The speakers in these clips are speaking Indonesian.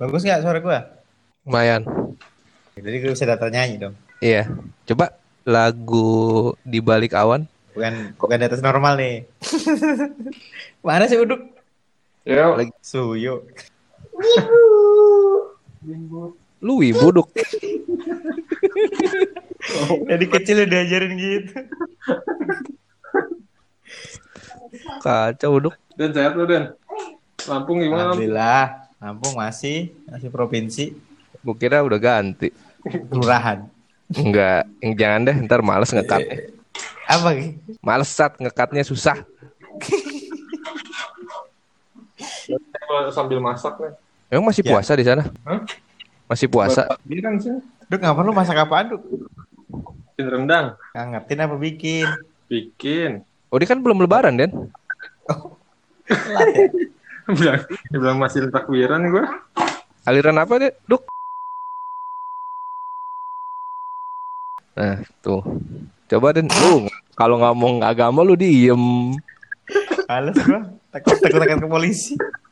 Bagus nggak suara gua? Lumayan. Jadi gue bisa data nyanyi dong. Iya. Coba lagu Di Balik Awan. Bukan di atas normal nih. Mana sih Uduk? Ya, Lagi Suyo. lu wibu Duk. Dari kecil udah diajarin gitu. Kacau Duk. Dan sehat lu, Dan. Lampung gimana? Alhamdulillah. Lampung masih provinsi. Gua kira udah ganti. Kelurahan. Enggak, yang jangan deh, ntar males ngekat. Apa gitu? Males ngekatnya susah. Sambil masak nih. Emang masih Ya. puasa di sana? Hah? Masih puasa? Bilang sih. Duk nggak perlu masak apaan Duk? Bikin rendang. Ngangetin apa bikin? Bikin. Oh, dia kan belum lebaran, Den. Telat ya? Dia bilang masih takbiran nih gue. Aliran apa deh, Duk? Nah, tuh. Coba Den, lu kalau ngomong agama lu diem. Males gua. Takut akan ke polisi.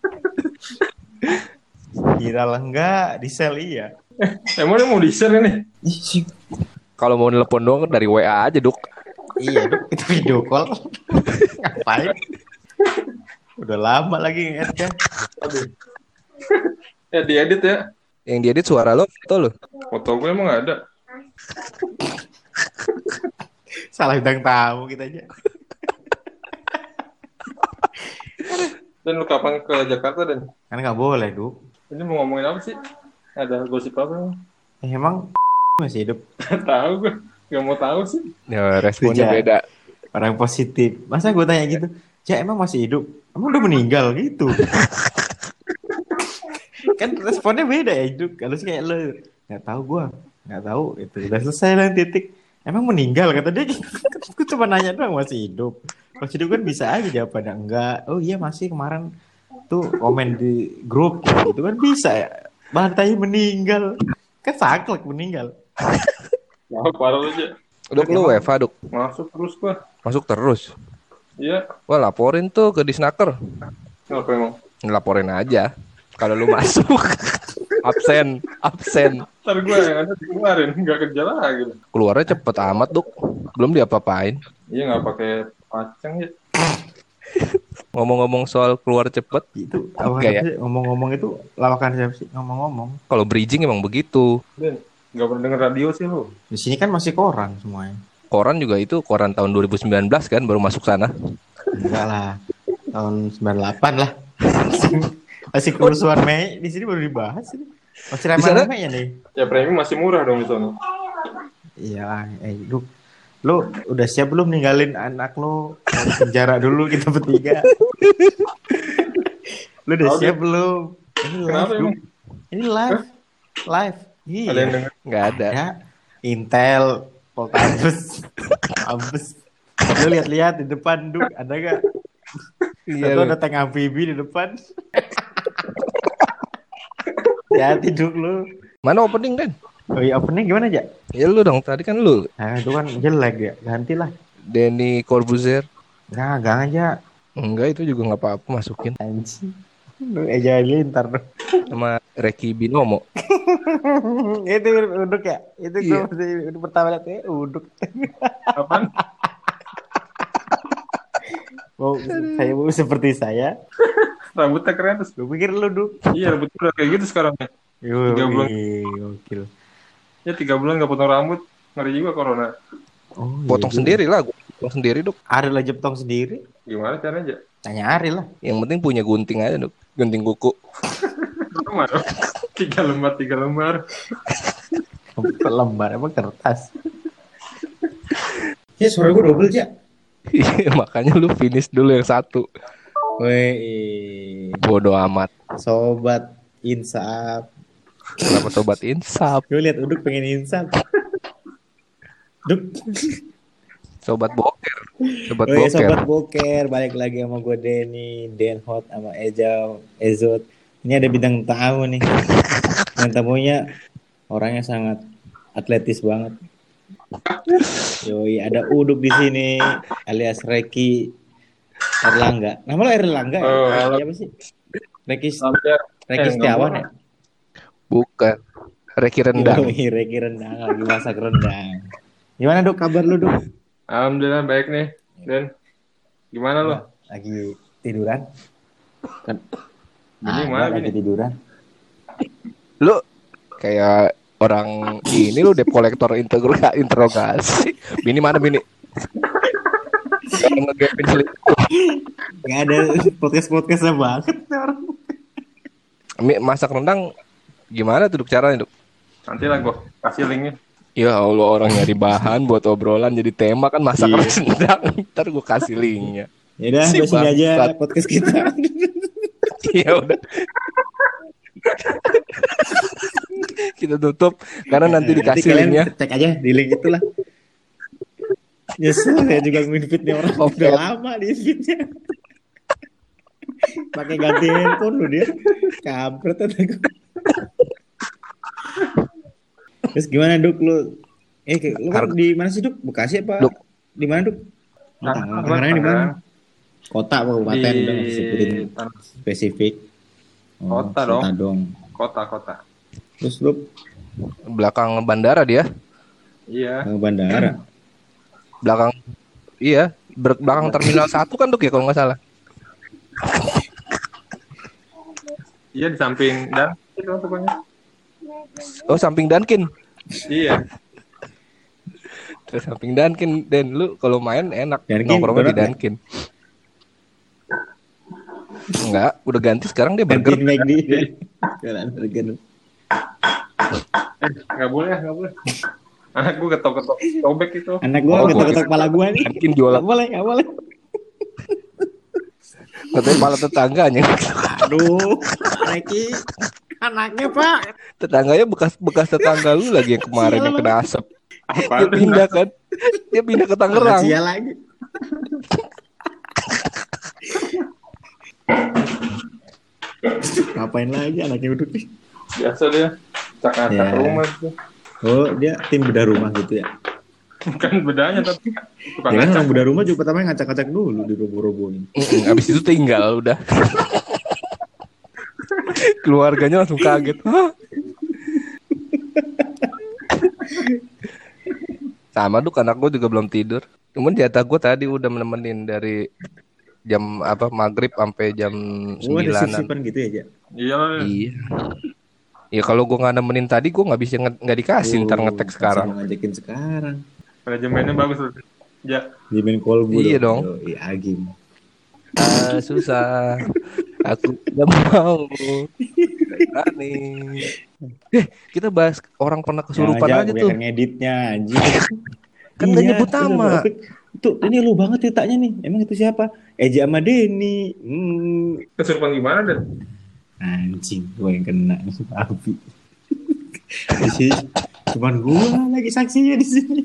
Kira lah enggak, di sel iya. Emang dia mau di-share ini? Ih, sih. Kalau mau nelpon doang dari WA aja, Duk. Iya Duk, itu video call. Ngapain? Udah lama lagi nge kan. Aduh. Ya diedit ya. Yang diedit suara lo, foto lo. Foto gue emang gak ada. Salah bintang tamu kita aja. Dan lu kapan ke Jakarta, Dan? Kan nggak boleh Duk. Ini mau ngomongin apa sih? Ada gosip apa? Emang masih hidup. Tahu gue. Gak mau tahu sih. Ya, responnya Sejak- beda. Orang positif. Masa gue tanya gitu? Ya emang masih hidup? Emang udah meninggal gitu? Kan responnya beda ya Duk. Kalau sih kayak lo nggak tahu gue, nggak tahu itu udah selesai lah titik. Emang meninggal kata dia. Gue cuma nanya doang masih hidup. Kalau hidup kan bisa aja jawabannya enggak. Oh iya masih kemarin tuh komen di grup gitu kan bisa ya. Bantai meninggal. Kan saklek meninggal. Nah, parah lu aja. Duk, lu WFA, Duk. Masuk terus gue. Masuk terus. Iya. Wah, laporin tuh ke Disnaker. Kenapa emang? Laporin aja. Kalau lu masuk. absen. Ntar gue yang ada dikeluarin. Gak kerja lagi. Keluarnya cepet amat, Duk. Belum diapa-apain. Iya gak pakai pacang ya. Ngomong-ngomong soal keluar cepet, Itu apa Enggak ya? sih? Ngomong-ngomong itu lawakan siapa sih? Ngomong-ngomong. kalau bridging emang begitu. Dan gak pernah denger radio sih lu. Di sini kan masih koran semuanya. Koran juga itu koran tahun 2019 kan baru masuk sana. Enggak lah. Tahun 98 lah. Masih kerusuhan Mei di sini baru dibahas ini. Masih Di sana? ramai-ramai ya nih. Ya premi masih murah dong di sana. Iya, lu udah siap belum ninggalin anak lu dari penjara dulu kita bertiga? Lu udah Tahu siap belum? Ini live, Kenapa Duk. emang? Ini live. Live. Iya. Ada yang denger? Nggak ada. Ada Intel, Poltabes, Abes. Lu lihat-lihat di depan, Duk, ada gak? Iya. Satu ada tank amfibi di depan. Hati Duk lu. Mana opening kan? Oh iya, opening gimana aja? Ya lu dong, tadi kan lu. Nah, itu kan jelek ya. Gantilah. Denny Corbuzier. Nah, gang aja. Enggak, itu juga nggak apa-apa masukin. Anjing. Lu ejalin ntar. Sama Reki Binomo. Itu uduk ya? Itu gue Iya. masih itu pertama lihat uduk. Apaan? Mau seperti saya. Rambutnya keren terus. Gue pikir lu Duk. Iya rambutnya udah kayak gitu sekarang. 3 bulan. Gokil. Ya 3 bulan gak potong rambut. Ngeri juga corona. Oh, iya Potong juga. sendiri lah, gua potong sendiri, Duk. Ariel lah jeptong sendiri. Gimana caranya aja? Tanya Ariel lah. Yang penting punya gunting aja, Duk. Gunting kuku. Lembar. 3 lembar. Lembar apa kertas? Ya suara gue double ya. Iya, makanya lu finish dulu yang satu. Weh, Bodoh amat. sobat insaf. Kenapa sobat insap? Gue lihat uduk pengen insaf. Duk. Sobat boker. Sobat Oh iya, boker. sobat boker, balik lagi sama gue Denny, Den Hot sama Ejau, Ezot. Ini ada bintang tamu nih. Bintang tamunya orangnya sangat atletis banget. Yoi, ada Uduk di sini alias Reki Erlangga. Nama lo Erlangga ya? Oh, halo. Siapa sih? Reki Hampir. Reki Setiawan ya? Bukan. Reki rendang. Yoi, Reki rendang lagi masak rendang. Gimana Duk kabar lu Duk? Alhamdulillah baik nih. Dan gimana lo? Lagi tiduran? Kan Bini ada mana, lagi Bini? tiduran. Lu kayak orang ini lu debt collector interogasi. Bini mana bini? Kalau ngegapin selingkuh. Gak ada podcast-podcastnya banget nih orang. Masak rendang gimana tuh Duk, caranya Duk? Nanti lah gue kasih linknya. Ya Allah, orang nyari bahan buat obrolan jadi tema kan masak Iya. rendang. Ntar gue kasih linknya. Yaudah, Si sampai sini aja bangsat. podcast kita. Ya udah. Kita tutup karena nanti dikasih kalian linknya. cek aja di link itulah. Nyesel saya juga nge-feed nih orang Oke. udah lama di feednya. Pakai ganti handphone lu dia. Kampret kata gue. Terus gimana Duk lu? Lu kan Harga- di mana sih Duk? Bekasi apa? Duk. Di mana Duk? Tangerang di mana? Kota apa kabupaten udah nggak disebutin spesifik. Kota dong. Kota. Kota. Terus lu Belakang bandara dia. Iya. ke bandara. Belakang belakang terminal 1 kan Duk ya kalau nggak salah. Iya di samping dan itu pokoknya. Oh, samping Dunkin. Iya. Terus samping Dunkin, Dan lu kalau main enak Dunkin, nongkrongnya di donat nggak? Dunkin. Enggak, udah ganti sekarang dia burger. Gantiin McD dia. Jalan burger. Nggak boleh. Anak gue ketok-ketok sobek itu. Anak gua Oh, ketok-ketok kepala gua nih. Dunkin jualan. Nggak boleh. Katanya malah tetangganya. Aduh, Reki, anaknya Pak. Tetangganya bekas tetangga lu lagi yang kemarin yang kena asap. Apa Dia pindah kan. Dia pindah ke Tangerang. Rahasia lagi. Ngapain lagi anaknya duduk nih? Biasa dia. Cak-cak Ya. rumah itu. Oh, dia tim bedah rumah gitu ya. Bukan bedanya tapi tukang Ya kan ngacak. orang bedah rumah juga pertama ngacak-ngacak dulu di robo-roboin. Abis itu tinggal udah. Keluarganya langsung kaget. Hah? Sama Duk, anak gue juga belum tidur. Cuman jatah gue tadi udah nemenin dari jam maghrib sampai jam Oh, ada 9-an. sip-sipan gitu ya, Jak? Iya. Iya. Ya kalau gue nggak nemenin tadi gue nggak bisa nggak dikasih ntar ngetek sekarang. Mau ngajakin sekarang. Manajemennya bagus loh. Ya. Di main kolbu Iya dong. Iya, Agim. Susah. Aku tidak mau. Berani. Kita bahas orang pernah kesurupan aja tuh. Ngeditnya anjing. Kan nggak nyebut nama. Tuh, ini lu banget ceritanya nih. Emang itu siapa? Eja sama Denny. Kesurupan gimana Dan? Anjing, gue yang kena api. Di sini cuman gue lagi saksinya di sini.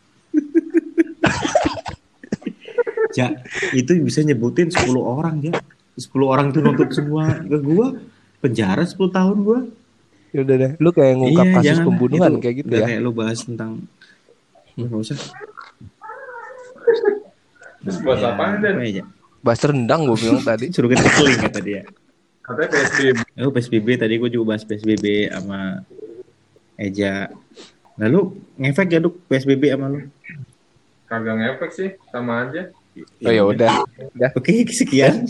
Ja, itu bisa nyebutin 10 orang ya. 10 orang tuh nuntut semua ke gue. Penjara 10 tahun gue. Ya udah deh, lu kayak ngungkap kasus jangan. pembunuhan Itu kayak gitu udah ya. Kayak lu bahas tentang nggak usah. Terus buat apaan Dan? apa ya, Ja? Bahas rendang gue bilang tadi. Suruh kita keling kata dia. Katanya PSBB. Oh, PSBB tadi gue juga bahas PSBB sama Eja. Lalu ngefek ya Duk PSBB sama lu? Kagak ngefek sih, sama aja. Oh ya udah. Oke, sekian.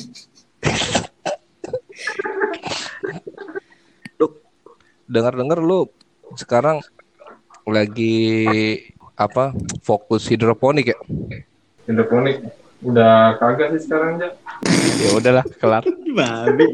Dengar-dengar lu sekarang lagi fokus hidroponik ya? Hidroponik. Udah kagak sih sekarang aja. Ya udahlah, kelar. Babi.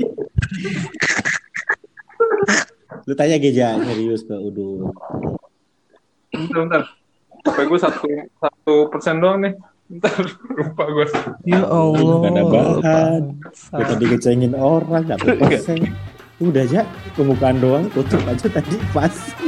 Lu tanya Geja serius ke Udo. Bentar. HP gue 1% doang nih. Bentar, lupa gue. Ya Allah. Gak ada bahan. Gue tadi ngecengin orang, gak persen. Udah aja, pembukaan doang, tutup aja tadi pas.